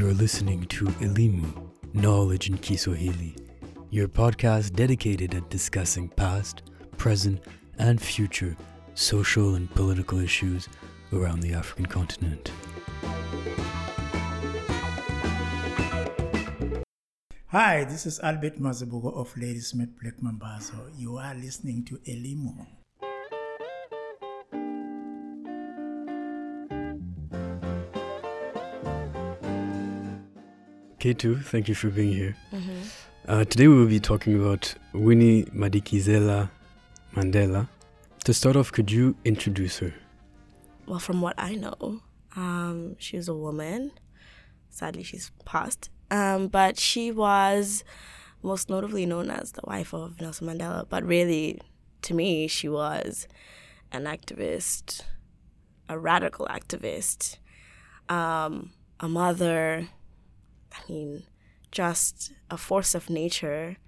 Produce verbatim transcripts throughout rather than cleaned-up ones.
You're listening to Elimu, Knowledge in Kiswahili, your podcast dedicated at discussing past, present, and future social and political issues around the African continent. Hi, this is Albert Mazabugo of Ladysmith Black Mambazo. You are listening to Elimu. K two, thank you for being here. Mm-hmm. Uh, today we will be talking about Winnie Madikizela Mandela. To start off, could you introduce her? Well, from what I know, um, she was a woman. Sadly, she's passed. Um, but she was most notably known as the wife of Nelson Mandela. But really, to me, she was an activist, a radical activist, um, a mother, I mean, just a force of nature.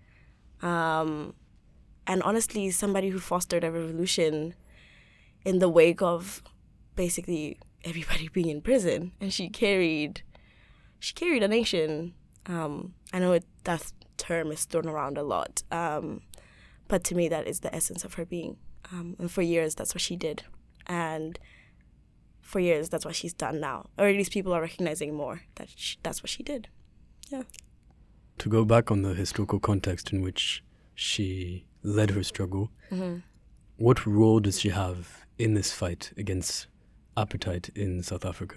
Um, and honestly, somebody who fostered a revolution in the wake of basically everybody being in prison. And she carried... She carried a nation. Um, I know it, that term is thrown around a lot, um, but to me that is the essence of her being. Um, and for years, that's what she did. And for years, that's what she's done now. Or at least people are recognizing more that she, that's what she did. Yeah. To go back on the historical context in which she led her struggle, Mm-hmm. what role does she have in this fight against apartheid in South Africa?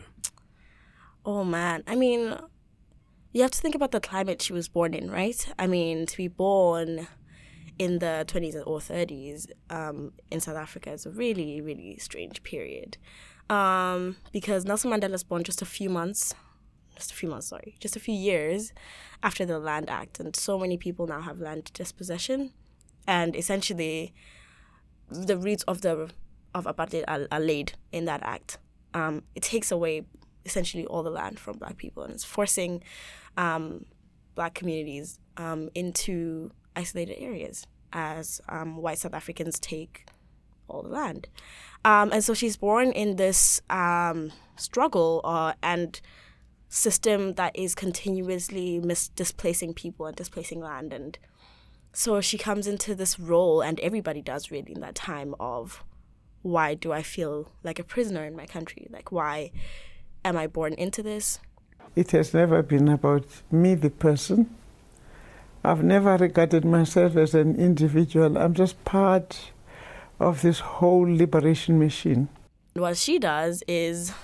Oh, man. I mean, you have to think about the climate she was born in, right? I mean, to be born in the twenties or thirties um, in South Africa is a really, really strange period. Um, because Nelson Mandela was born just a few months, just a few months, sorry, just a few years after the Land Act. And so many people now have land dispossession. And essentially, the roots of the of apartheid are, are laid in that act. Um, it takes away essentially all the land from Black people, and it's forcing um, Black communities um, into isolated areas as um, white South Africans take all the land. Um, and so she's born in this um, struggle uh, and system that is continuously mis- displacing people and displacing land. And so she comes into this role, and everybody does really in that time, of why do I feel like a prisoner in my country? Like, why am I born into this? It has never been about me, the person. I've never regarded myself as an individual. I'm just part of this whole liberation machine. What she does is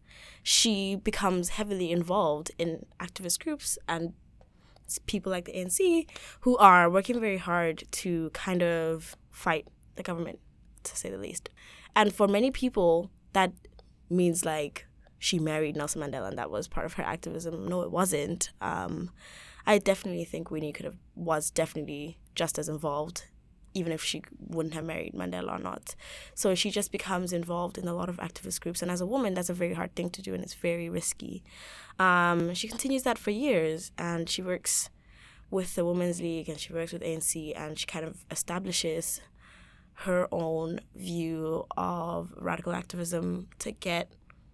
she becomes heavily involved in activist groups and people like the A N C who are working very hard to kind of fight the government, to say the least. And for many people, that means like she married Nelson Mandela and that was part of her activism. No, it wasn't. Um, I definitely think Winnie could have was definitely just as involved, even if she wouldn't have married Mandela or not. So she just becomes involved in a lot of activist groups. And as a woman, that's a very hard thing to do, and it's very risky. Um, she continues that for years, and she works with the Women's League, and she works with A N C, and she kind of establishes her own view of radical activism to get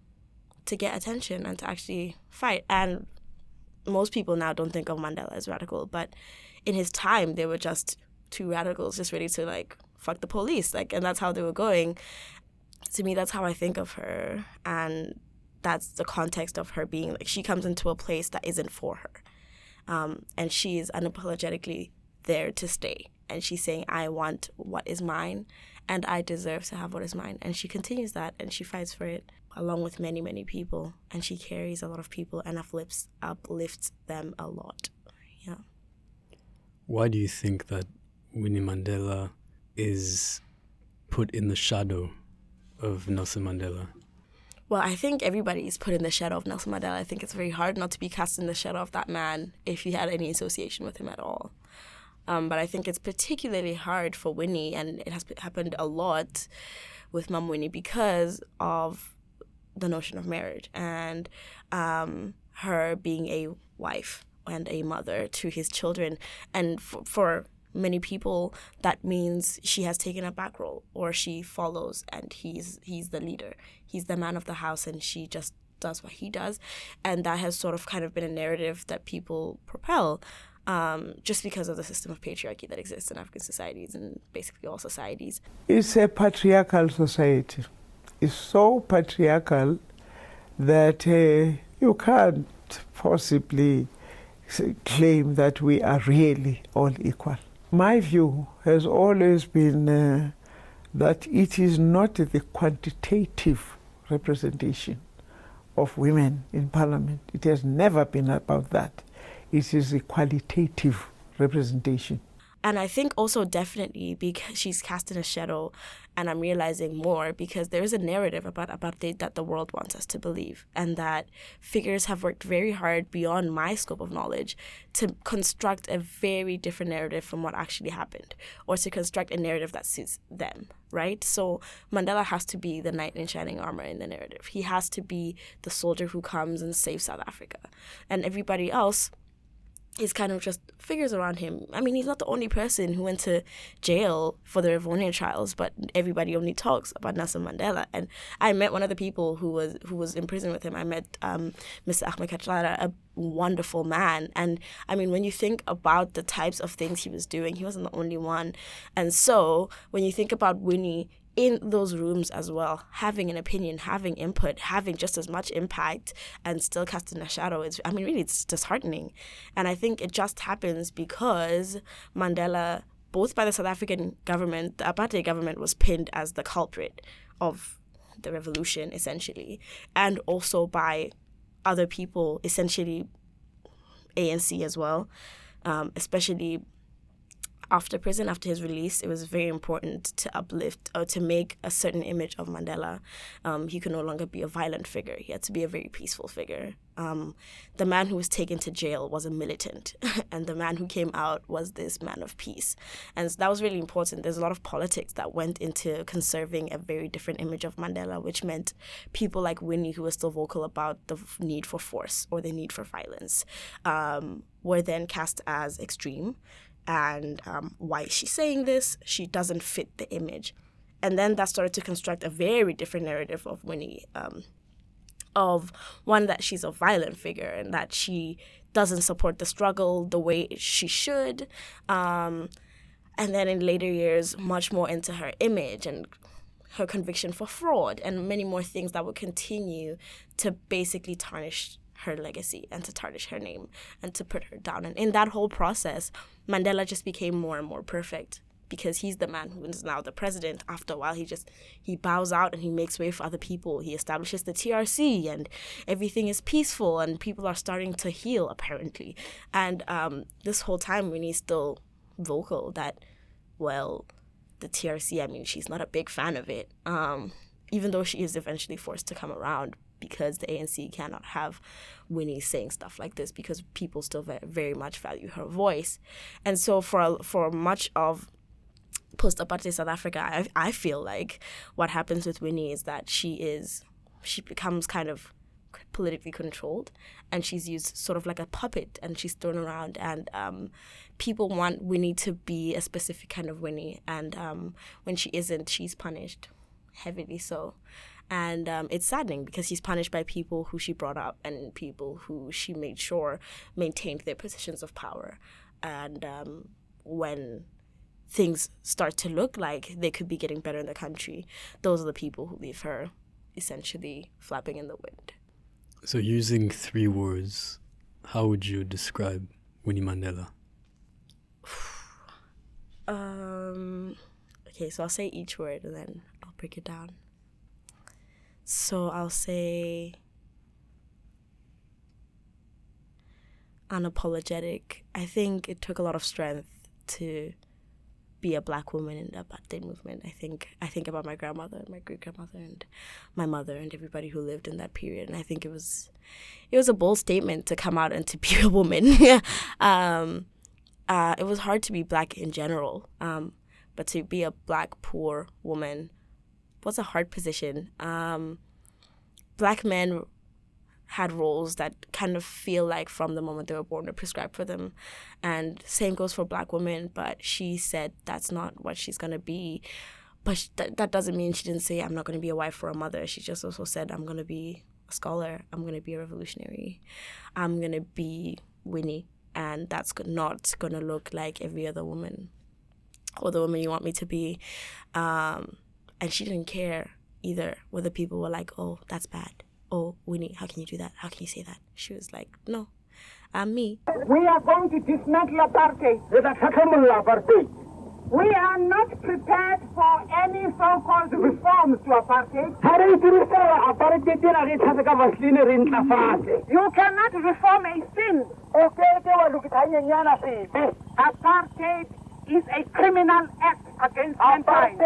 to get attention and to actually fight. And most people now don't think of Mandela as radical, but in his time, they were just two radicals just ready to, like, fuck the police. Like, and that's how they were going. To me, that's how I think of her. And that's the context of her being, like, she comes into a place that isn't for her. Um, and she is unapologetically there to stay. And she's saying, I want what is mine, and I deserve to have what is mine. And she continues that, and she fights for it, along with many, many people. And she carries a lot of people and uplifts, uplifts them a lot. Yeah. Why do you think that Winnie Mandela is put in the shadow of Nelson Mandela? Well, I think everybody is put in the shadow of Nelson Mandela. I think it's very hard not to be cast in the shadow of that man if you had any association with him at all. Um, but I think it's particularly hard for Winnie, and it has happened a lot with Mum Winnie because of the notion of marriage and um, her being a wife and a mother to his children. And f- for many people, that means she has taken a back role, or she follows and he's he's the leader. He's the man of the house, and she just does what he does. And that has sort of kind of been a narrative that people propel um, just because of the system of patriarchy that exists in African societies and basically all societies. It's a patriarchal society. It's so patriarchal that uh, you can't possibly claim that we are really all equal. My view has always been uh, that it is not the quantitative representation of women in parliament. It has never been about that. It is a qualitative representation. And I think also definitely because she's casting a shadow, and I'm realizing more because there is a narrative about apartheid that the world wants us to believe, and that figures have worked very hard beyond my scope of knowledge to construct a very different narrative from what actually happened, or to construct a narrative that suits them, right? So Mandela has to be the knight in shining armor in the narrative. He has to be the soldier who comes and saves South Africa. And everybody else is kind of just figures around him. I mean, he's not the only person who went to jail for the Rivonia trials, but everybody only talks about Nelson Mandela. And I met one of the people who was who was in prison with him. I met um, Mister Ahmed Katlara, a wonderful man. And I mean, when you think about the types of things he was doing, he wasn't the only one. And so when you think about Winnie in those rooms as well, having an opinion, having input, having just as much impact and still casting a shadow, it's, I mean, really, it's disheartening. And I think it just happens because Mandela, both by the South African government, the apartheid government was pinned as the culprit of the revolution, essentially, and also by other people, essentially A N C as well, um, especially after prison, after his release. It was very important to uplift or to make a certain image of Mandela. Um, he could no longer be a violent figure. He had to be a very peaceful figure. Um, the man who was taken to jail was a militant, and the man who came out was this man of peace. And that was really important. There's a lot of politics that went into conserving a very different image of Mandela, which meant people like Winnie, who were still vocal about the need for force or the need for violence, um, were then cast as extreme. And um, why is she saying this? She doesn't fit the image. And then that started to construct a very different narrative of Winnie, um, of one, that she's a violent figure and that she doesn't support the struggle the way she should. Um, and then in later years, much more into her image and her conviction for fraud and many more things that would continue to basically tarnish her legacy and to tarnish her name and to put her down. And in that whole process, Mandela just became more and more perfect because he's the man who is now the president. After a while, he just, he bows out and he makes way for other people. He establishes the T R C and everything is peaceful and people are starting to heal, apparently. And um, this whole time, Winnie's still vocal that, well, the T R C, I mean, she's not a big fan of it, um, even though she is eventually forced to come around, because the A N C cannot have Winnie saying stuff like this because people still very, very much value her voice. And so for for much of post-apartheid South Africa, I, I feel like what happens with Winnie is that she is, she becomes kind of politically controlled and she's used sort of like a puppet and she's thrown around, and um, people want Winnie to be a specific kind of Winnie, and um, when she isn't, she's punished heavily so. And um, it's saddening because she's punished by people who she brought up and people who she made sure maintained their positions of power. And um, when things start to look like they could be getting better in the country, those are the people who leave her essentially flapping in the wind. So using three words, how would you describe Winnie Mandela? um, okay, so I'll say each word and then I'll break it down. So I'll say unapologetic. I think it took a lot of strength to be a black woman in the apartheid movement. I think I think about my grandmother, my great grandmother, and my mother, and everybody who lived in that period. And I think it was it was a bold statement to come out and to be a woman. um, uh, it was hard to be black in general, um, but to be a black poor woman was a hard position. Um, black men had roles that kind of feel like from the moment they were born were prescribed for them. And same goes for black women, but she said that's not what she's going to be. But sh- th- that doesn't mean she didn't say, I'm not going to be a wife or a mother. She just also said, I'm going to be a scholar. I'm going to be a revolutionary. I'm going to be Winnie. And that's not going to look like every other woman or the woman you want me to be. Um, and she didn't care either whether people were like, oh, that's bad. Oh, Winnie, how can you do that? How can you say that? She was like, no, I'm me. We are going to dismantle apartheid. We are not prepared for any so-called reforms to apartheid. You cannot reform a sin. Apartheid is a criminal act against mankind.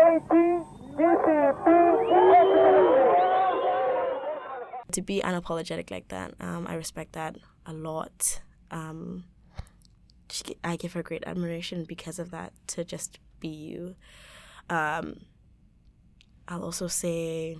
To be unapologetic like that, um, I respect that a lot. Um, she, I give her great admiration because of that, to just be you. Um, I'll also say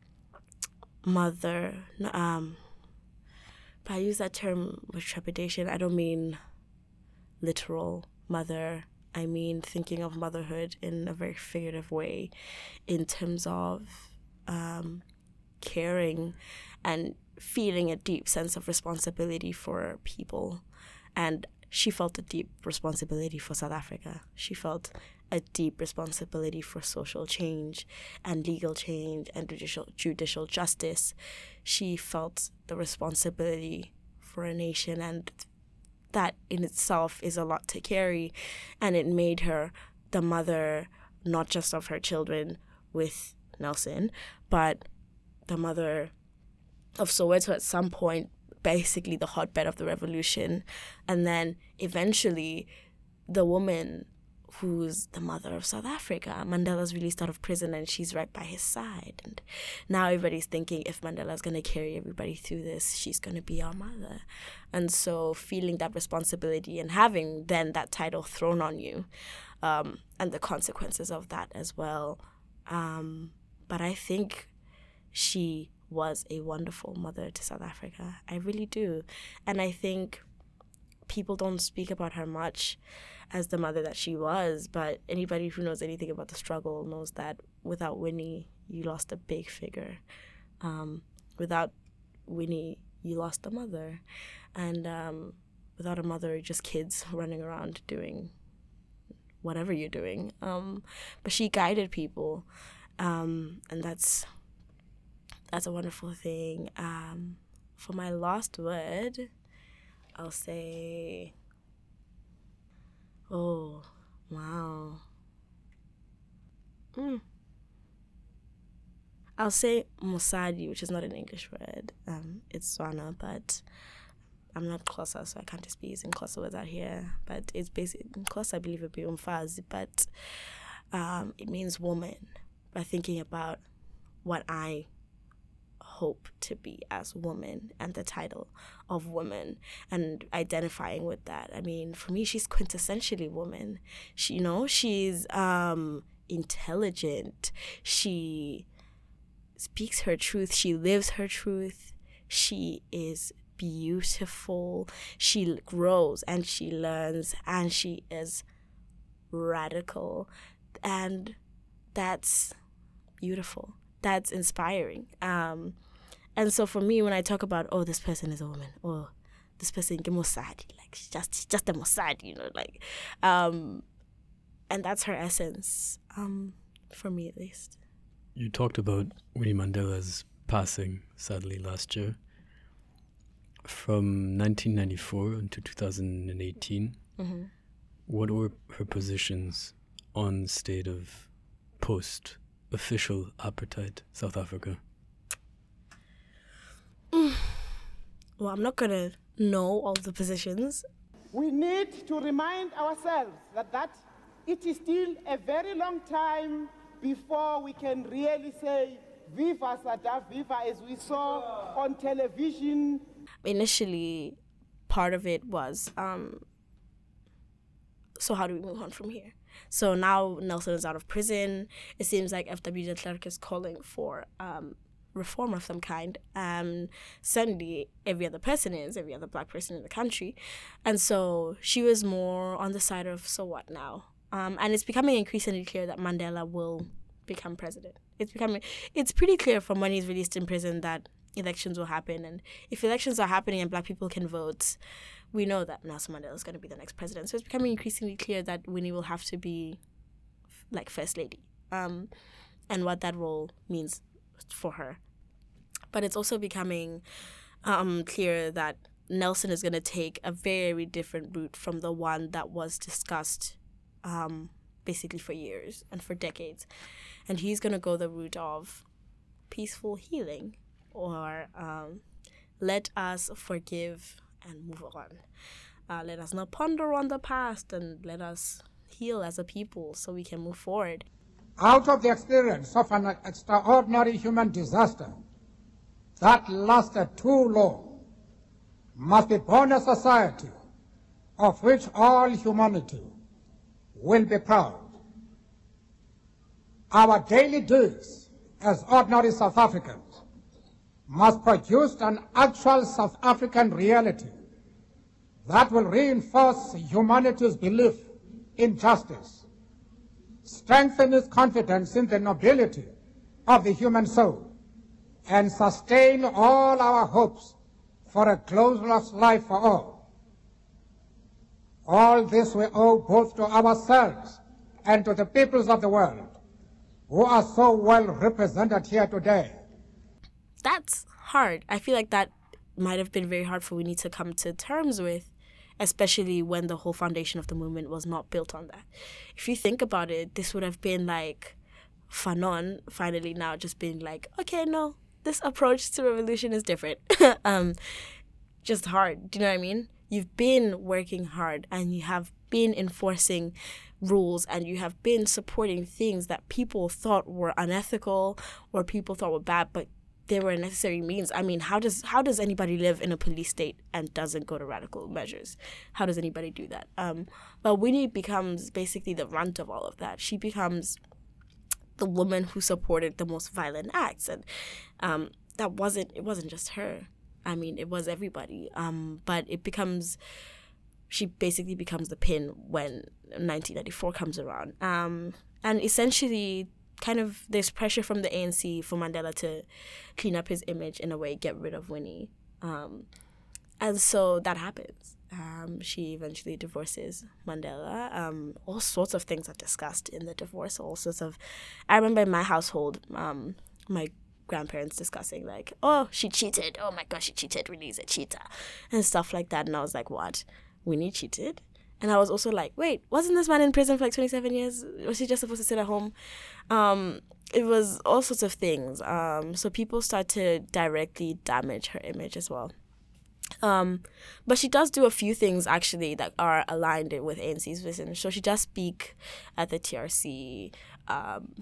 mother. Um, but I use that term with trepidation. I don't mean literal mother. I mean thinking of motherhood in a very figurative way, in terms of um, caring and feeling a deep sense of responsibility for people. And she felt a deep responsibility for South Africa. She felt a deep responsibility for social change and legal change and judicial judicial justice. She felt the responsibility for a nation, and that in itself is a lot to carry. And it made her the mother, not just of her children with Nelson, but the mother of Soweto at some point, basically the hotbed of the revolution. And then eventually the woman who's the mother of South Africa. Mandela's released out of prison and she's right by his side. And now everybody's thinking, if Mandela's going to carry everybody through this, she's going to be our mother. And so feeling that responsibility and having then that title thrown on you, um, and the consequences of that as well. Um, but I think she was a wonderful mother to South Africa. I really do. And I think people don't speak about her much as the mother that she was, but anybody who knows anything about the struggle knows that without Winnie, you lost a big figure. Um, without Winnie, you lost a mother. And um, without a mother, you're just kids running around doing whatever you're doing. Um, but she guided people, um, and that's that's a wonderful thing. Um, for my last word, I'll say, oh, wow. Mm. I'll say Mosadi, which is not an English word. Um, it's Tswana, but I'm not Xhosa, so I can't just be using Xhosa words out here. But it's basically, in Xhosa, I believe it would be umfazi, but um, it means woman. By thinking about what I hope to be as woman and the title of woman and identifying with that. I mean, for me, she's quintessentially woman. She, you know, she's um, intelligent. She speaks her truth. She lives her truth. She is beautiful. She grows and she learns and she is radical. And that's beautiful. That's inspiring. Um, and so for me, when I talk about, oh, this person is a woman, or this person is Mosadi, like she's just, she's just a Mosadi, you know, like, um, and that's her essence, um, for me at least. You talked about Winnie Mandela's passing, sadly, last year. From nineteen ninety-four until two thousand eighteen, mm-hmm. What were her positions on state of post-official apartheid South Africa? Mm. Well, I'm not going to know all the positions. We need to remind ourselves that, that it is still a very long time before we can really say, Viva Sada, Viva, as we saw on television. Initially, part of it was, um, so how do we move on from here? So now Nelson is out of prison. It seems like F W de Klerk is calling for um, reform of some kind. Um, certainly, every other person is, every other black person in the country. And so she was more on the side of, so what now? Um, and it's becoming increasingly clear that Mandela will become president. It's becoming, it's pretty clear from when he's released in prison that elections will happen. And if elections are happening and black people can vote, we know that Nelson Mandela is going to be the next president. So it's becoming increasingly clear that Winnie will have to be like first lady, um, and what that role means for her. But it's also becoming um, clear that Nelson is going to take a very different route from the one that was discussed um, basically for years and for decades. And he's going to go the route of peaceful healing, or um, let us forgive and move on. Uh, let us not ponder on the past, and let us heal as a people so we can move forward. Out of the experience of an extraordinary human disaster that lasted too long, must be born a society of which all humanity will be proud. Our daily deeds as ordinary South Africans must produce an actual South African reality that will reinforce humanity's belief in justice, strengthen its confidence in the nobility of the human soul, and sustain all our hopes for a glorious life for all. All this we owe both to ourselves and to the peoples of the world, who are so well represented here today. That's hard. I feel like that might have been very hard for Winnie to come to terms with, especially when the whole foundation of the movement was not built on that. If you think about it, this would have been like Fanon finally now just being like, okay, no, this approach to revolution is different. um, just hard. Do you know what I mean? You've been working hard and you have been enforcing rules and you have been supporting things that people thought were unethical or people thought were bad, but they were a necessary means. I mean, how does how does anybody live in a police state and doesn't go to radical measures? How does anybody do that? Um, but Winnie becomes basically the runt of all of that. She becomes the woman who supported the most violent acts, and um, that wasn't it wasn't just her. I mean, it was everybody. Um, but it becomes she basically becomes the pin when nineteen ninety-four comes around, um, and essentially, kind of there's pressure from the A N C for Mandela to clean up his image in a way, get rid of Winnie, um, and so that happens. Um, she eventually divorces Mandela. Um, all sorts of things are discussed in the divorce. All sorts of, I remember in my household, um, my grandparents discussing like, oh, she cheated. Oh my gosh, she cheated. Winnie's a cheater, and stuff like that. And I was like, what? Winnie cheated? And I was also like, wait, wasn't this man in prison for like twenty-seven years? Was he just supposed to sit at home? Um, it was all sorts of things. Um, so people start to directly damage her image as well. Um, but she does do a few things actually that are aligned with A N C's vision. So she does speak at the T R C, um,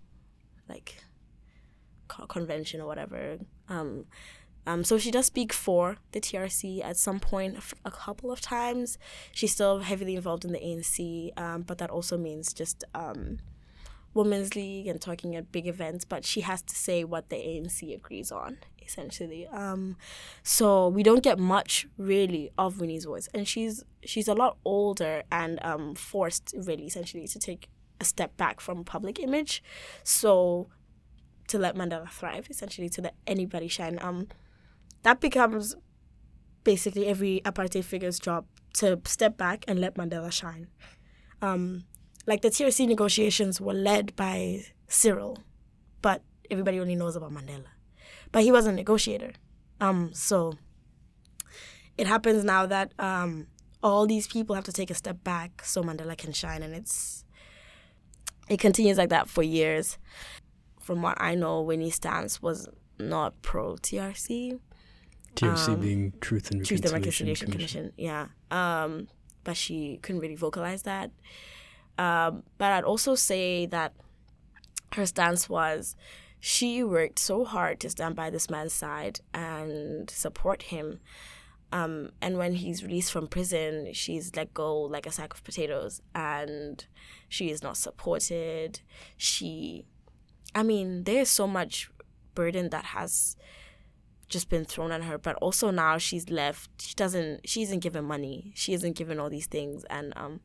like convention or whatever. Um, um, so she does speak for the T R C at some point, a couple of times. She's still heavily involved in the A N C, um, but that also means just um, Women's League and talking at big events. But she has to say what the A N C agrees on, essentially. Um, so we don't get much really of Winnie's voice, and she's she's a lot older and um, forced really essentially to take a step back from public image, so to let Mandela thrive, essentially to let anybody shine. Um, that becomes basically every apartheid figure's job, to step back and let Mandela shine. Um, like the T R C negotiations were led by Cyril, but everybody only knows about Mandela. But he was a negotiator. Um, so it happens now that um, all these people have to take a step back so Mandela can shine. And it's it continues like that for years. From what I know, Winnie's stance was not pro-T R C. T R C um, being Truth and Truth Reconciliation, and Reconciliation Commission. Commission. Yeah. Um, but she couldn't really vocalize that. Um, but I'd also say that her stance was she worked so hard to stand by this man's side and support him. Um, and when he's released from prison, she's let go like a sack of potatoes, and she is not supported. She, I mean, there is so much burden that has just been thrown on her, but also now she's left. She doesn't, she isn't given money. She isn't given all these things, and um,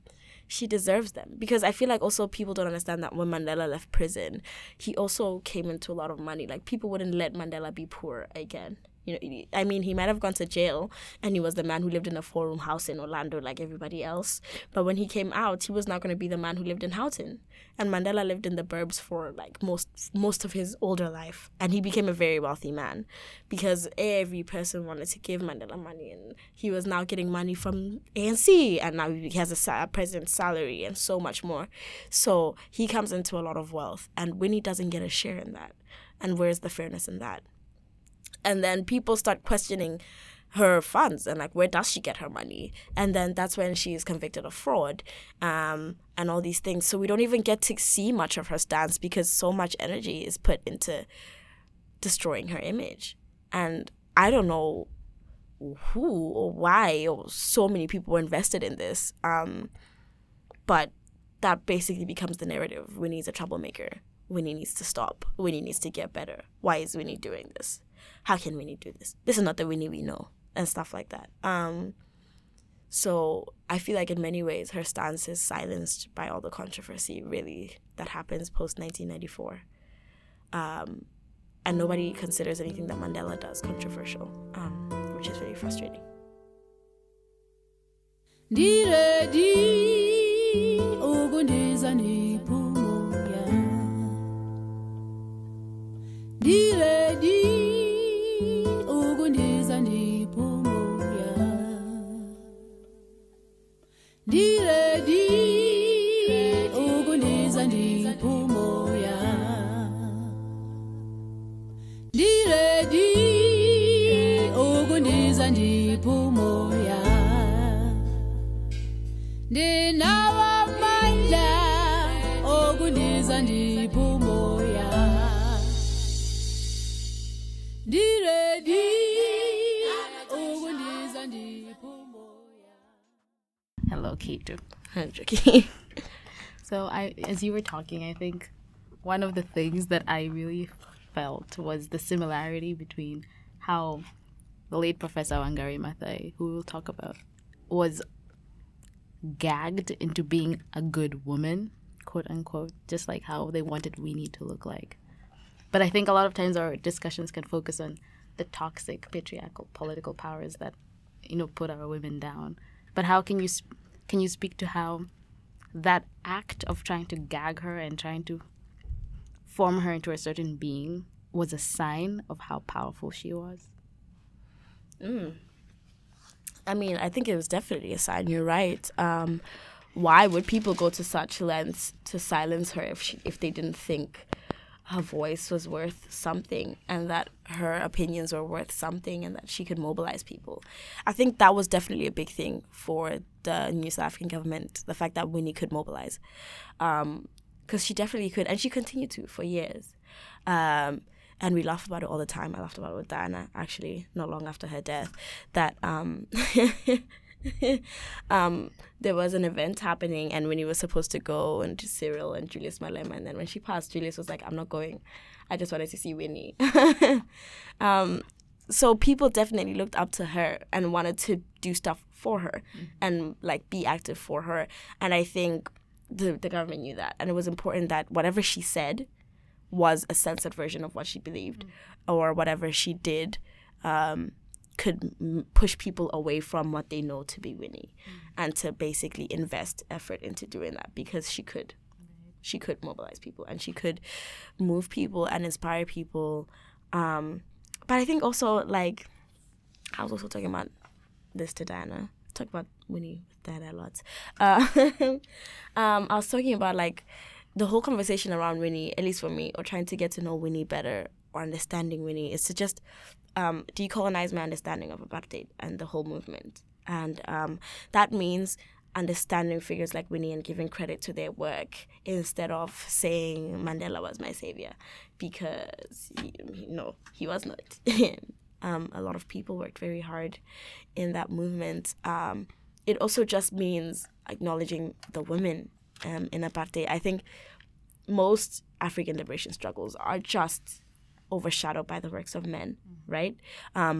she deserves them. Because I feel like also people don't understand that when Mandela left prison, he also came into a lot of money. Like, people wouldn't let Mandela be poor again. You know, I mean, he might have gone to jail and he was the man who lived in a four-room house in Orlando like everybody else. But when he came out, he was not going to be the man who lived in Houghton. And Mandela lived in the burbs for like most most of his older life. And he became a very wealthy man because every person wanted to give Mandela money. And he was now getting money from A N C. And now he has a, a president's salary and so much more. So he comes into a lot of wealth. And Winnie doesn't get a share in that. And where's the fairness in that? And then people start questioning her funds and like, where does she get her money? And then that's when she is convicted of fraud um, and all these things. So we don't even get to see much of her stance because so much energy is put into destroying her image. And I don't know who or why or so many people were invested in this. Um, but that basically becomes the narrative. Winnie's a troublemaker. Winnie needs to stop. Winnie needs to get better. Why is Winnie doing this? How can Winnie do this? This is not the Winnie we know, and stuff like that. Um, so I feel like in many ways her stance is silenced by all the controversy, really, that happens post nineteen ninety-four. Um, and nobody considers anything that Mandela does controversial, um, which is very frustrating. Hello, Keto. I'm joking. So I, as you were talking, I think one of the things that I really felt was the similarity between how the late Professor Wangari Maathai, who we'll talk about, was gagged into being a good woman, quote unquote, just like how they wanted Winnie to look like. But I think a lot of times our discussions can focus on the toxic patriarchal political powers that, you know, put our women down. But how can you sp- can you speak to how that act of trying to gag her and trying to form her into a certain being was a sign of how powerful she was? Mm. I mean, I think it was definitely a sign. You're right. Um, why would people go to such lengths to silence her if she, if they didn't think her voice was worth something and that her opinions were worth something and that she could mobilize people? I think that was definitely a big thing for the new South African government, the fact that Winnie could mobilize. Um, because she definitely could, and she continued to for years. Um, and we laugh about it all the time. I laughed about it with Diana, actually, not long after her death, that um, um, there was an event happening and Winnie was supposed to go and to Cyril and Julius Malema. And then when she passed, Julius was like, I'm not going. I just wanted to see Winnie. um, so people definitely looked up to her and wanted to do stuff for her mm-hmm. and like be active for her. And I think the, the government knew that. And it was important that whatever she said was a censored version of what she believed mm-hmm. or whatever she did um, could m- push people away from what they know to be Winnie mm-hmm. and to basically invest effort into doing that because she could. Right. She could mobilize people and she could move people and inspire people. Um, but I think also, like, I was also talking about this to Diana. I talk about Winnie with Diana a lot. Uh, um, I was talking about, like, the whole conversation around Winnie, at least for me, or trying to get to know Winnie better or understanding Winnie, is to just um, decolonize my understanding of apartheid and the whole movement. And um, that means understanding figures like Winnie and giving credit to their work instead of saying Mandela was my savior, because, he, no, he was not. um, a lot of people worked very hard in that movement. Um, it also just means acknowledging the women Um, in apartheid. I think most African liberation struggles are just overshadowed by the works of men, mm-hmm. right? Um,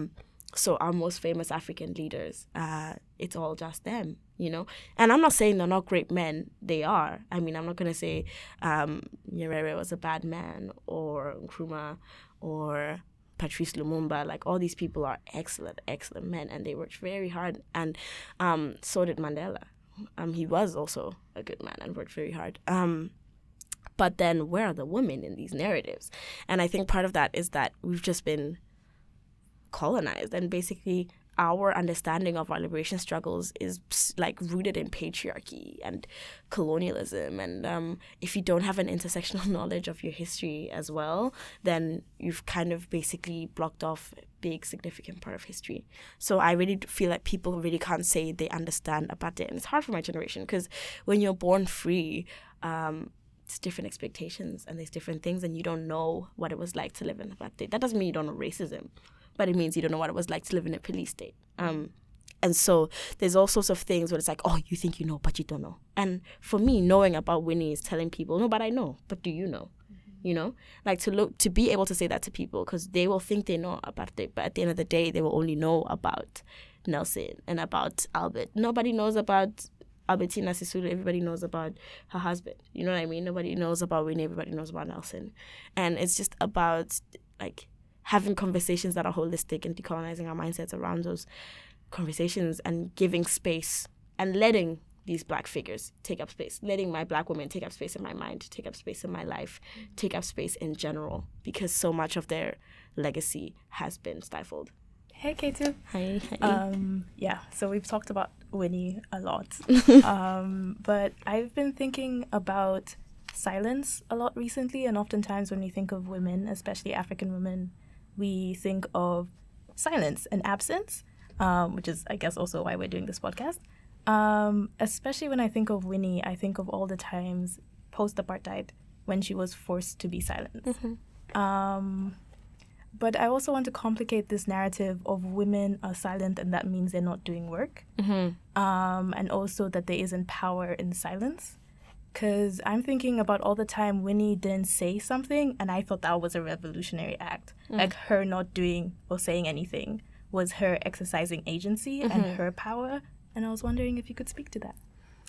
so our most famous African leaders, uh, it's all just them, you know? And I'm not saying they're not great men. They are. I mean, I'm not going to say um, Nyerere was a bad man, or Nkrumah, or Patrice Lumumba. Like, all these people are excellent, excellent men, and they worked very hard. And um, so did Mandela. Um, he was also a good man and worked very hard. Um, but then where are the women in these narratives? And I think part of that is that we've just been colonized, and basically our understanding of our liberation struggles is like rooted in patriarchy and colonialism. And um, if you don't have an intersectional knowledge of your history as well, then you've kind of basically blocked off a big significant part of history. So I really feel like people really can't say they understand about it. And it's hard for my generation, because when you're born free, um, it's different expectations and there's different things, and you don't know what it was like to live in apartheid. That doesn't mean you don't know racism, but it means you don't know what it was like to live in a police state. Um, and so there's all sorts of things where it's like, oh, you think you know, but you don't know. And for me, knowing about Winnie is telling people, no, but I know, but do you know? Mm-hmm. You know, like to look, to be able to say that to people, because they will think they know about it, but at the end of the day, they will only know about Nelson and about Albert. Nobody knows about Albertina Sisulu. Everybody knows about her husband. You know what I mean? Nobody knows about Winnie. Everybody knows about Nelson. And it's just about, like, having conversations that are holistic and decolonizing our mindsets around those conversations, and giving space and letting these Black figures take up space, letting my Black women take up space in my mind, take up space in my life, take up space in general, because so much of their legacy has been stifled. Hey, K two. Hi. hi. Um, yeah, so we've talked about Winnie a lot, um, but I've been thinking about silence a lot recently, and oftentimes when we think of women, especially African women, we think of silence and absence, um, which is, I guess, also why we're doing this podcast. Um, especially when I think of Winnie, I think of all the times post-apartheid when she was forced to be silent. Mm-hmm. Um, but I also want to complicate this narrative of women are silent and that means they're not doing work. Mm-hmm. Um, and also that there isn't power in silence. Because I'm thinking about all the time Winnie didn't say something, and I thought that was a revolutionary act. Mm. Like, her not doing or saying anything was her exercising agency mm-hmm. and her power. And I was wondering if you could speak to that.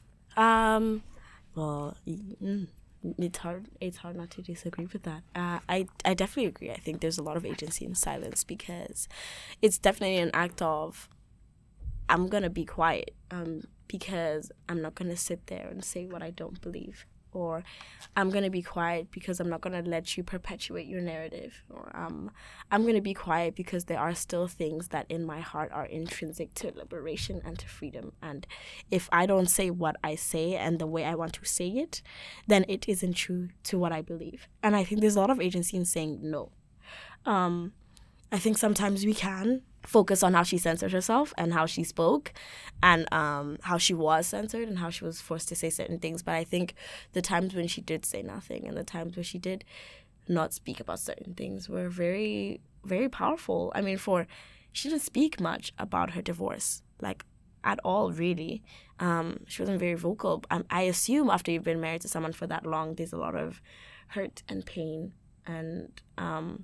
Um, well, mm, it's hard. It's hard not to disagree with that. Uh, I I definitely agree. I think there's a lot of agency in silence, because it's definitely an act of, I'm gonna be quiet. Um. because I'm not going to sit there and say what I don't believe, or I'm going to be quiet because I'm not going to let you perpetuate your narrative, or um, I'm going to be quiet because there are still things that in my heart are intrinsic to liberation and to freedom. And if I don't say what I say and the way I want to say it, then it isn't true to what I believe. And I think there's a lot of agency in saying no. Um, I think sometimes we can focus on how she censored herself and how she spoke, and um, how she was censored and how she was forced to say certain things. But I think the times when she did say nothing and the times where she did not speak about certain things were very, very powerful. I mean, for she didn't speak much about her divorce, like at all, really. Um, she wasn't very vocal. Um, I assume after you've been married to someone for that long, there's a lot of hurt and pain and um,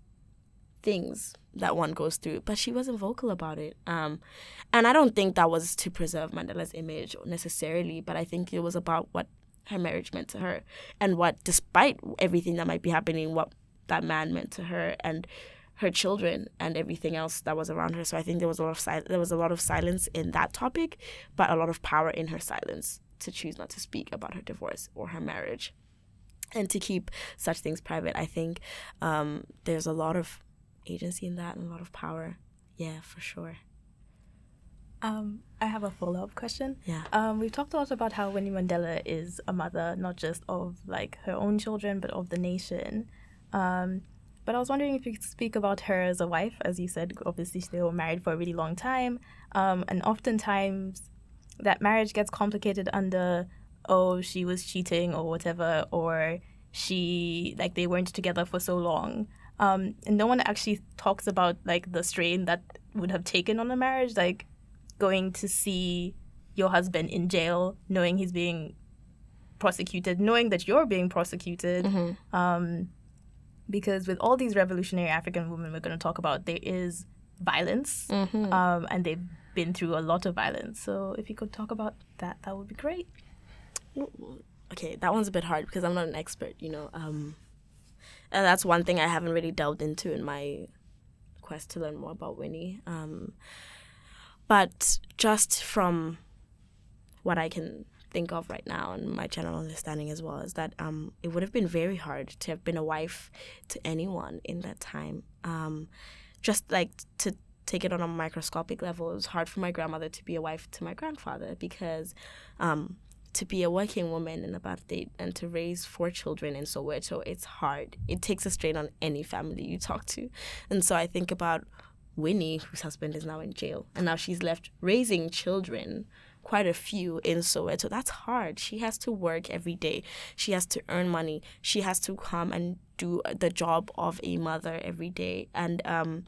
things that one goes through, but she wasn't vocal about it. Um, and I don't think that was to preserve Mandela's image necessarily, but I think it was about what her marriage meant to her, and what, despite everything that might be happening, what that man meant to her and her children and everything else that was around her. So I think there was a lot of sil- there was a lot of silence in that topic, but a lot of power in her silence to choose not to speak about her divorce or her marriage, and to keep such things private. I think um, there's a lot of agency in that and a lot of power. Yeah, for sure. Um, I have a follow-up question. Yeah. Um, we've talked a lot about how Winnie Mandela is a mother, not just of like her own children, but of the nation. Um, but I was wondering if you could speak about her as a wife. As you said, obviously they were married for a really long time. Um, and oftentimes that marriage gets complicated under, oh, she was cheating or whatever, or she, like, they weren't together for so long. Um, and no one actually talks about, like, the strain that would have taken on a marriage, like going to see your husband in jail, knowing he's being prosecuted, knowing that you're being prosecuted. Mm-hmm. Um, because with all these revolutionary African women we're going to talk about, there is violence, Mm-hmm. um, and they've been through a lot of violence. So if you could talk about that, that would be great. Okay, that one's a bit hard because I'm not an expert, you know. Um, and that's one thing I haven't really delved into in my quest to learn more about Winnie. Um, but just from what I can think of right now and my general understanding as well is that um, it would have been very hard to have been a wife to anyone in that time. Um, just like to take it on a microscopic level, it was hard for my grandmother to be a wife to my grandfather because um, to be a working woman in apartheid and to raise four children in Soweto, it's hard. It takes a strain on any family you talk to. And so I think about Winnie, whose husband is now in jail, and now she's left raising children, quite a few in Soweto. That's hard. She has to work every day. She has to earn money. She has to come and do the job of a mother every day. And um,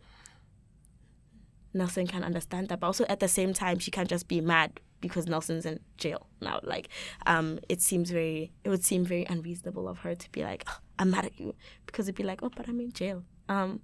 Nelson can understand that. But also at the same time, she can't just be mad because Nelson's in jail now. Like, um, it seems very, it would seem very unreasonable of her to be like, oh, I'm mad at you. Because it'd be like, oh, but I'm in jail. Um,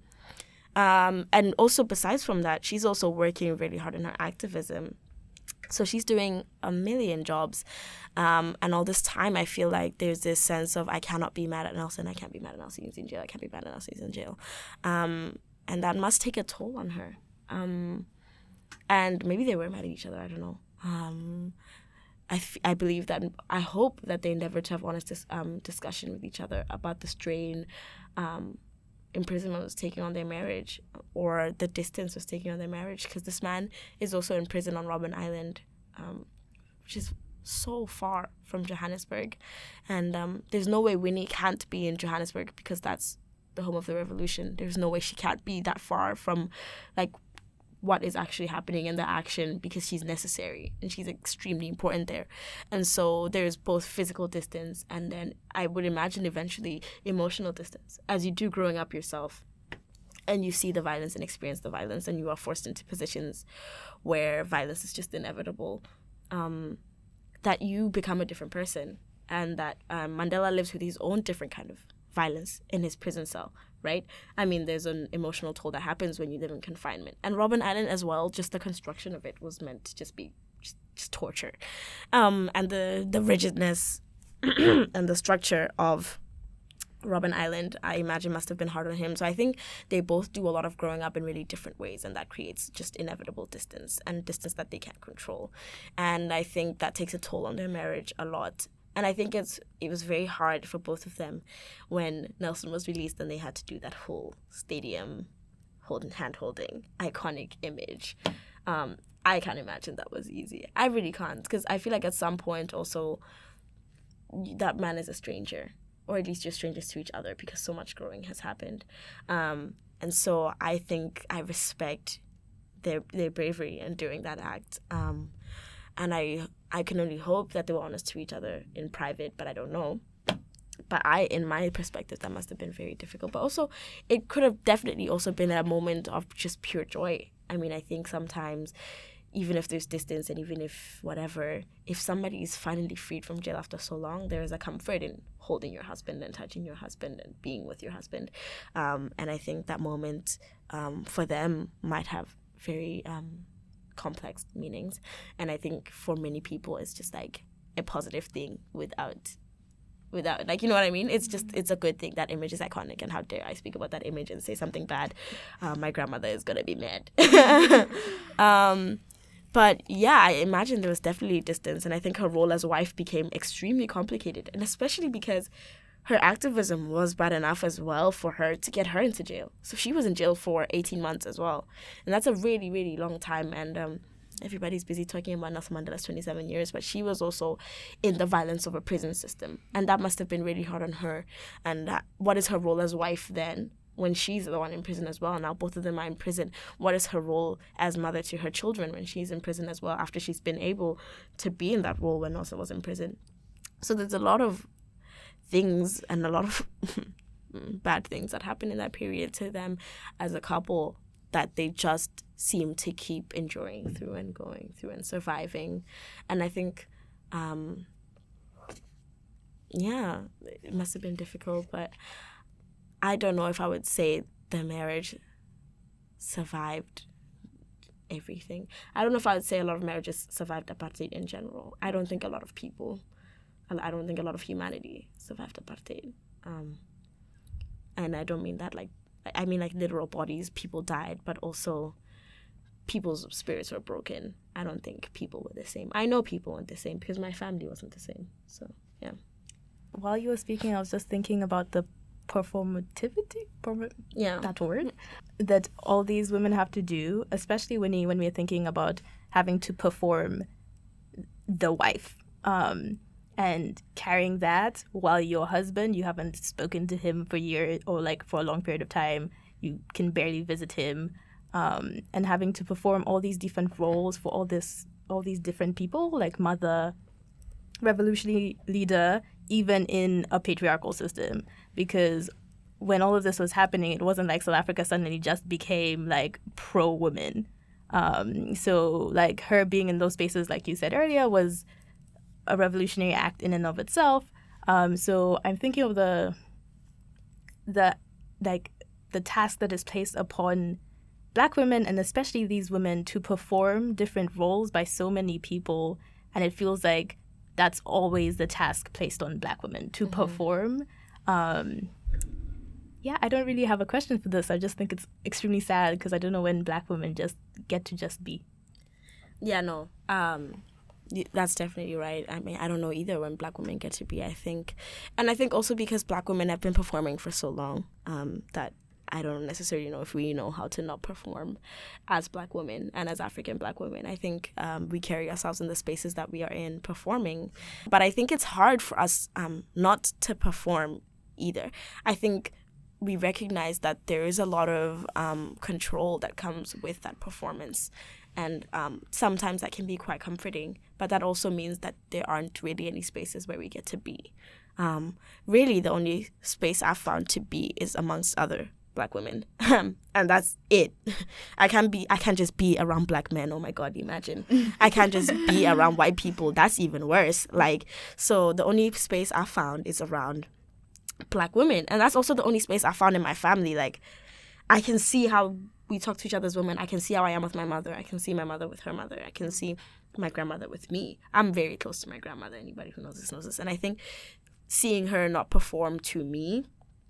um, and also besides from that, she's also working really hard in her activism. So she's doing a million jobs. Um, and all this time, I feel like there's this sense of I cannot be mad at Nelson. I can't be mad at Nelson. He's in jail. I can't be mad at Nelson. He's in jail. Um, and that must take a toll on her. Um, and maybe they were mad at each other. I don't know. Um, I, f- I believe that, I hope that they endeavor to have honest dis- um, discussion with each other about the strain um, imprisonment was taking on their marriage, or the distance was taking on their marriage, because this man is also in prison on Robben Island, um, which is so far from Johannesburg. And um, there's no way Winnie can't be in Johannesburg because that's the home of the revolution. There's no way she can't be that far from, like, what is actually happening in the action, because she's necessary and she's extremely important there. And so there's both physical distance and then I would imagine eventually emotional distance, as you do growing up yourself and you see the violence and experience the violence and you are forced into positions where violence is just inevitable, um, that you become a different person, and that um, Mandela lives with his own different kind of violence in his prison cell, right? I mean, there's an emotional toll that happens when you live in confinement. And Robben Island as well, just the construction of it was meant to just be just, just torture. Um, and the, the rigidness and the structure of Robben Island, I imagine, must have been hard on him. So I think they both do a lot of growing up in really different ways, and that creates just inevitable distance, and distance that they can't control. And I think that takes a toll on their marriage a lot. And I think it's it was very hard for both of them when Nelson was released and they had to do that whole stadium holding, hand-holding, iconic image. Um, I can't imagine that was easy. I really can't, because I feel like at some point also that man is a stranger, or at least you're strangers to each other, because so much growing has happened. Um, and so I think I respect their their bravery in doing that act. Um, and I I can only hope that they were honest to each other in private, but I don't know. But I, in my perspective, that must have been very difficult. But also, it could have definitely also been a moment of just pure joy. I mean, I think sometimes, even if there's distance and even if whatever, if somebody is finally freed from jail after so long, there is a comfort in holding your husband and touching your husband and being with your husband. Um, and I think that moment um, for them might have very um, complex meanings. And I think for many people, it's just like a positive thing without... without like, you know what I mean? It's just, it's a good thing. That image is iconic, and how dare I speak about that image and say something bad. Uh, my grandmother is gonna be mad. um, but yeah, I imagine there was definitely distance, and I think her role as a wife became extremely complicated, and especially because her activism was bad enough as well for her to get her into jail. So she was in jail for eighteen months as well, and that's a really, really long time. And um, everybody's busy talking about Nelson Mandela's twenty-seven years, but she was also in the violence of a prison system. And that must have been really hard on her. And that, what is her role as wife then, when she's the one in prison as well? Now both of them are in prison. What is her role as mother to her children when she's in prison as well, after she's been able to be in that role when Nelson was in prison? So there's a lot of things and a lot of bad things that happen in that period to them as a couple, that they just seem to keep enduring through and going through and surviving. And I think, um, yeah, it must have been difficult, but I don't know if I would say the marriage survived everything. I don't know if I would say a lot of marriages survived apartheid in general. I don't think a lot of people, I don't think a lot of humanity survived apartheid. Um, and I don't mean that like, I mean like literal bodies, people died, but also people's spirits were broken. I don't think people were the same. I know people weren't the same because my family wasn't the same. So, yeah. While you were speaking, I was just thinking about the performativity, perform- yeah, that word, that all these women have to do, especially when you, when we're thinking about having to perform the wife, um, and carrying that while your husband, you haven't spoken to him for years or like for a long period of time, you can barely visit him, um, and having to perform all these different roles for all this, all these different people, like mother, revolutionary leader, even in a patriarchal system. Because when all of this was happening, it wasn't like South Africa suddenly just became like pro-women. Um, so like her being in those spaces, like you said earlier, was a revolutionary act in and of itself. Um, so I'm thinking of the the like the task that is placed upon Black women, and especially these women, to perform different roles by so many people, and it feels like that's always the task placed on Black women, to mm-hmm. perform. Um, yeah, I don't really have a question for this. I just think it's extremely sad because I don't know when Black women just get to just be. Yeah, no, um, that's definitely right. I mean, I don't know either when Black women get to be, I think. And I think also because Black women have been performing for so long, um, that I don't necessarily know if we know how to not perform as Black women and as African Black women. I think um, we carry ourselves in the spaces that we are in performing. But I think it's hard for us um, not to perform either. I think we recognize that there is a lot of um, control that comes with that performance. And um, sometimes that can be quite comforting. But that also means that there aren't really any spaces where we get to be. Um, really, the only space I've found to be is amongst other Black women, and that's it. I can't be. I can't just be around Black men. Oh my God, imagine. I can't just be around white people. That's even worse. Like, so the only space I found is around Black women, and that's also the only space I found in my family. Like, I can see how we talk to each other as women. I can see how I am with my mother. I can see my mother with her mother. I can see my grandmother with me. I'm very close to my grandmother. Anybody who knows this knows this. And I think seeing her not perform to me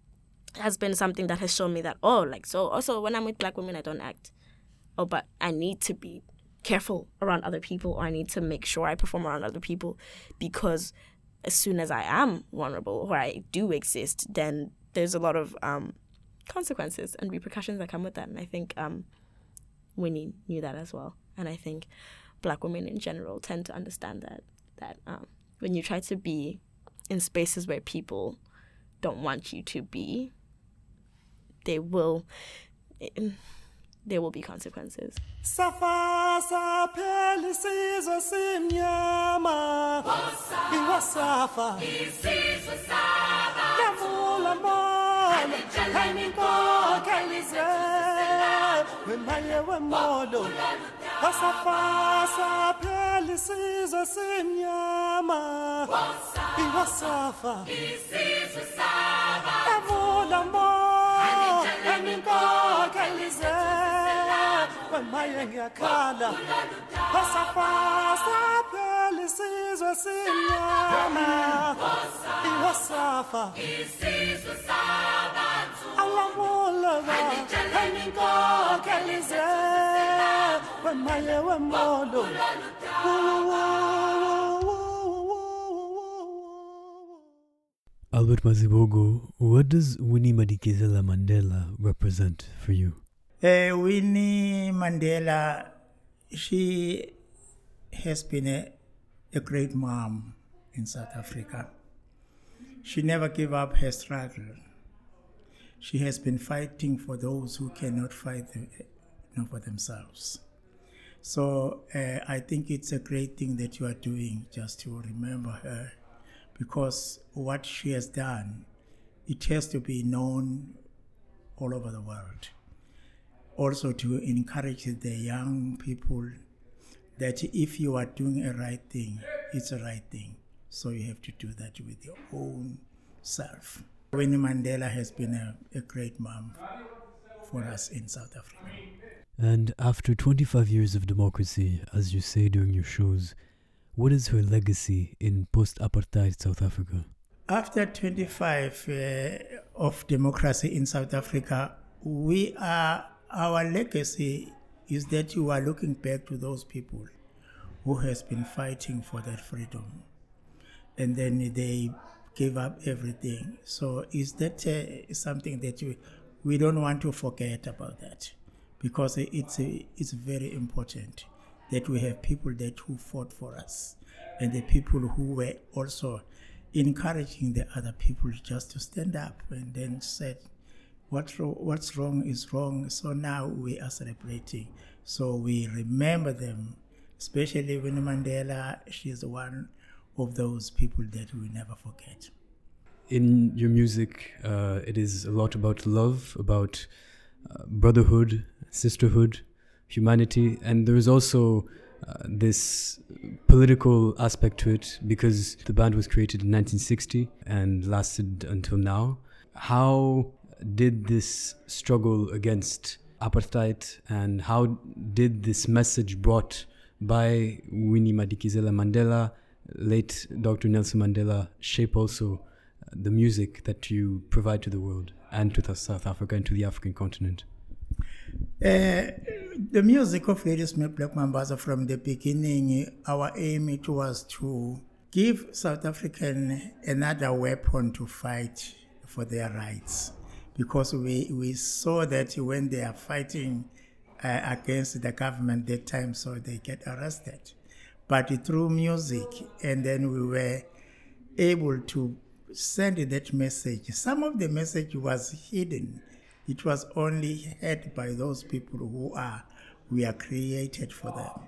has been something that has shown me that, oh, like, so also when I'm with Black women, I don't act. Oh, but I need to be careful around other people, or I need to make sure I perform around other people, because as soon as I am vulnerable or I do exist, then there's a lot of um, consequences and repercussions that come with that. And I think um, Winnie knew that as well. And I think Black women in general tend to understand that, that um, when you try to be in spaces where people don't want you to be, they will, there will be consequences. Safa sapheli sizwe simnyama iwasafa isizwe saba yavula mola haninkoka lizwe wemaye wemolo Safa sapheli sizwe simnyama iwasafa isizwe saba yavula mola haninkoka lizwe wemaye ngiyakhala Safa pheli sizwe sinyama iwasafa isizwe sabantu alamulaba haninkoka lize wemaye wemolo Albert Mazibuko, what does Winnie Madikizela Mandela represent for you? Uh, Winnie Mandela, she has been a, a great mom in South Africa. She never gave up her struggle. She has been fighting for those who cannot fight the, you know, for themselves. So uh, I think it's a great thing that you are doing, just to remember her, because what she has done, it has to be known all over the world. Also to encourage the young people that if you are doing a right thing, it's a right thing. So you have to do that with your own self. Winnie Mandela has been a, a great mom for us in South Africa. And after twenty-five years of democracy, as you say during your shows, what is her legacy in post-apartheid South Africa? After twenty-five uh, of democracy in South Africa, we are our legacy is that you are looking back to those people who has been fighting for that freedom, and then they gave up everything. So is that uh, something that you, we don't want to forget about that, because it's a, it's very important that we have people that who fought for us, and the people who were also encouraging the other people just to stand up and then said, What ro- what's wrong is wrong. So now we are celebrating. So we remember them, especially Winnie Mandela. She is one of those people that we never forget. In your music, uh, it is a lot about love, about uh, brotherhood, sisterhood, humanity, and there is also uh, this political aspect to it, because the band was created in nineteen sixty and lasted until now. How did this struggle against apartheid, and how did this message brought by Winnie Madikizela Mandela, late Doctor Nelson Mandela, shape also the music that you provide to the world and to the South Africa and to the African continent? Uh, the music of Ladysmith Black Mambazo, from the beginning, our aim it was to give South African another weapon to fight for their rights, because we, we saw that when they are fighting uh, against the government that time, so they get arrested. But through music, and then we were able to send that message. Some of the message was hidden. It was only heard by those people who are we are created for them.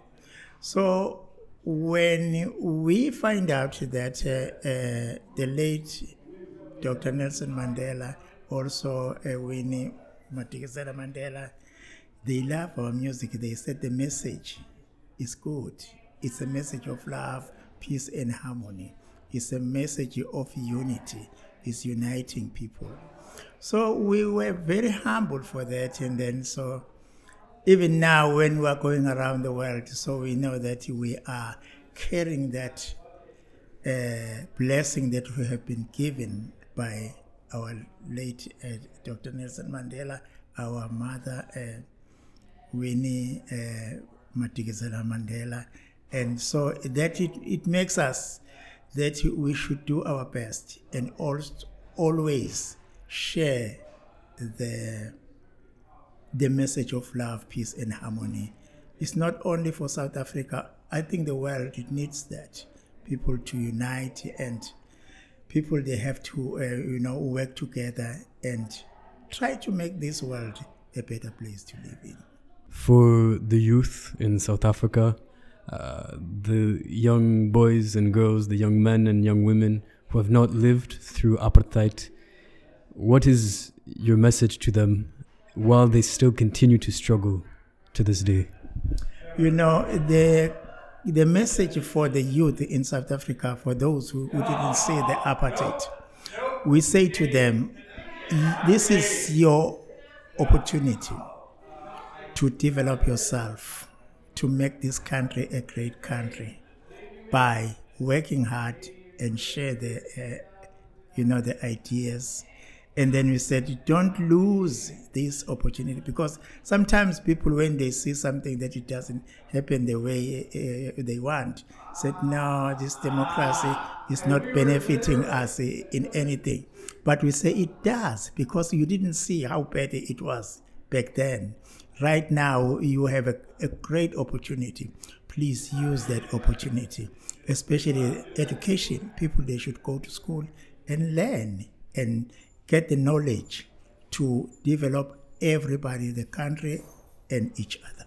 So when we find out that uh, uh, the late Doctor Nelson Mandela, also uh, Winnie Madikizela Mandela, they love our music. They said the message is good. It's a message of love, peace, and harmony. It's a message of unity. It's uniting people. So we were very humble for that, and then so even now when we are going around the world, so we know that we are carrying that uh, blessing that we have been given by our late uh, Doctor Nelson Mandela, our mother uh, Winnie uh, Madikizela Mandela, and so that it, it makes us that we should do our best and also always share the the message of love, peace, and harmony. It's not only for South Africa. I think the world, it needs that. People to unite, and people, they have to, uh, you know, work together and try to make this world a better place to live in. For the youth in South Africa, uh, the young boys and girls, the young men and young women who have not lived through apartheid, what is your message to them while they still continue to struggle to this day? You know, the the message for the youth in South Africa, for those who, who didn't see the apartheid, we say to them, this is your opportunity to develop yourself, to make this country a great country by working hard and share the, uh, you know, the ideas. And then we said, don't lose this opportunity, because sometimes people, when they see something that it doesn't happen the way uh, they want, said, no, this democracy is not benefiting us in anything. But we say it does, because you didn't see how bad it was back then. Right now, you have a, a great opportunity. Please use that opportunity, especially education. People, they should go to school and learn and get the knowledge to develop everybody, the country, and each other.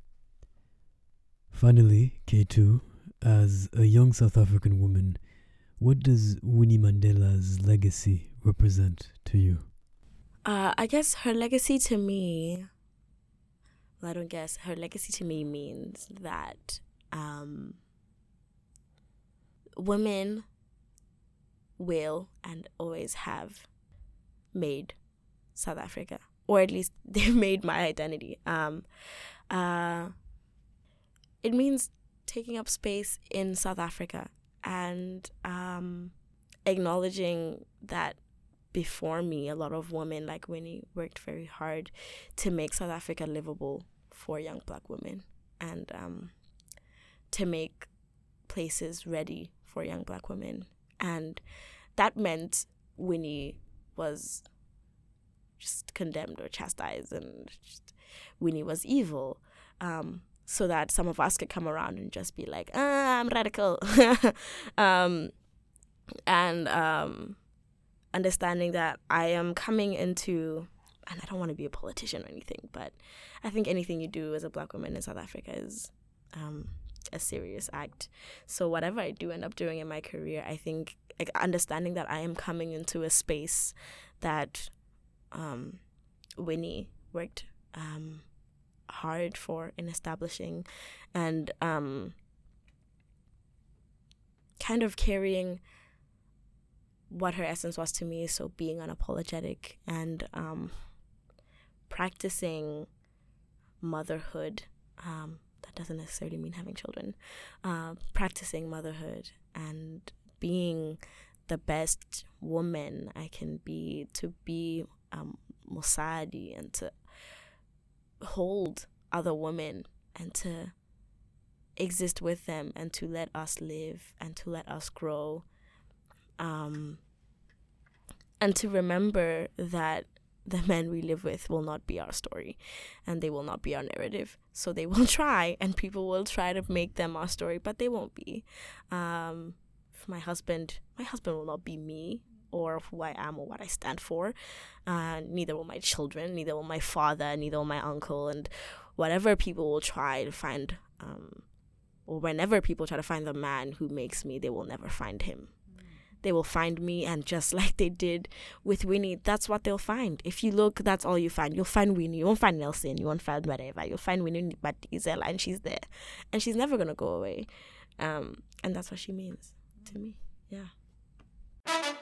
Finally, K two, as a young South African woman, what does Winnie Mandela's legacy represent to you? Uh, I guess her legacy to me, well, I don't guess, her legacy to me means that um, women will and always have made South Africa, or at least they've made my identity. Um, uh, it means taking up space in South Africa and um, acknowledging that before me, a lot of women like Winnie worked very hard to make South Africa livable for young Black women, and um, to make places ready for young Black women. And that meant Winnie was just condemned or chastised, and just, Winnie was evil, um, so that some of us could come around and just be like, ah, I'm radical. um, and um, understanding that I am coming into, and I don't want to be a politician or anything, but I think anything you do as a Black woman in South Africa is um, a serious act. So whatever I do end up doing in my career, I think like, understanding that I am coming into a space that um, Winnie worked um, hard for in establishing, and um, kind of carrying what her essence was to me, so being unapologetic and um, practicing motherhood. Um, that doesn't necessarily mean having children. Uh, practicing motherhood and being the best woman I can be, to be um, Mosadi, and to hold other women and to exist with them and to let us live and to let us grow. Um, and to remember that the men we live with will not be our story, and they will not be our narrative. So they will try, and people will try to make them our story, but they won't be. Um, my husband, my husband will not be me or who I am or what I stand for. Uh, neither will my children, neither will my father, neither will my uncle, and whatever people will try to find, um, or whenever people try to find the man who makes me, they will never find him. They will find me, and just like they did with Winnie, that's what they'll find. If you look, that's all you find. You'll find Winnie. You won't find Nelson. You won't find whatever. You'll find Winnie Madikizela, and she's there. And she's never going to go away. Um, and that's what she means to me. Yeah.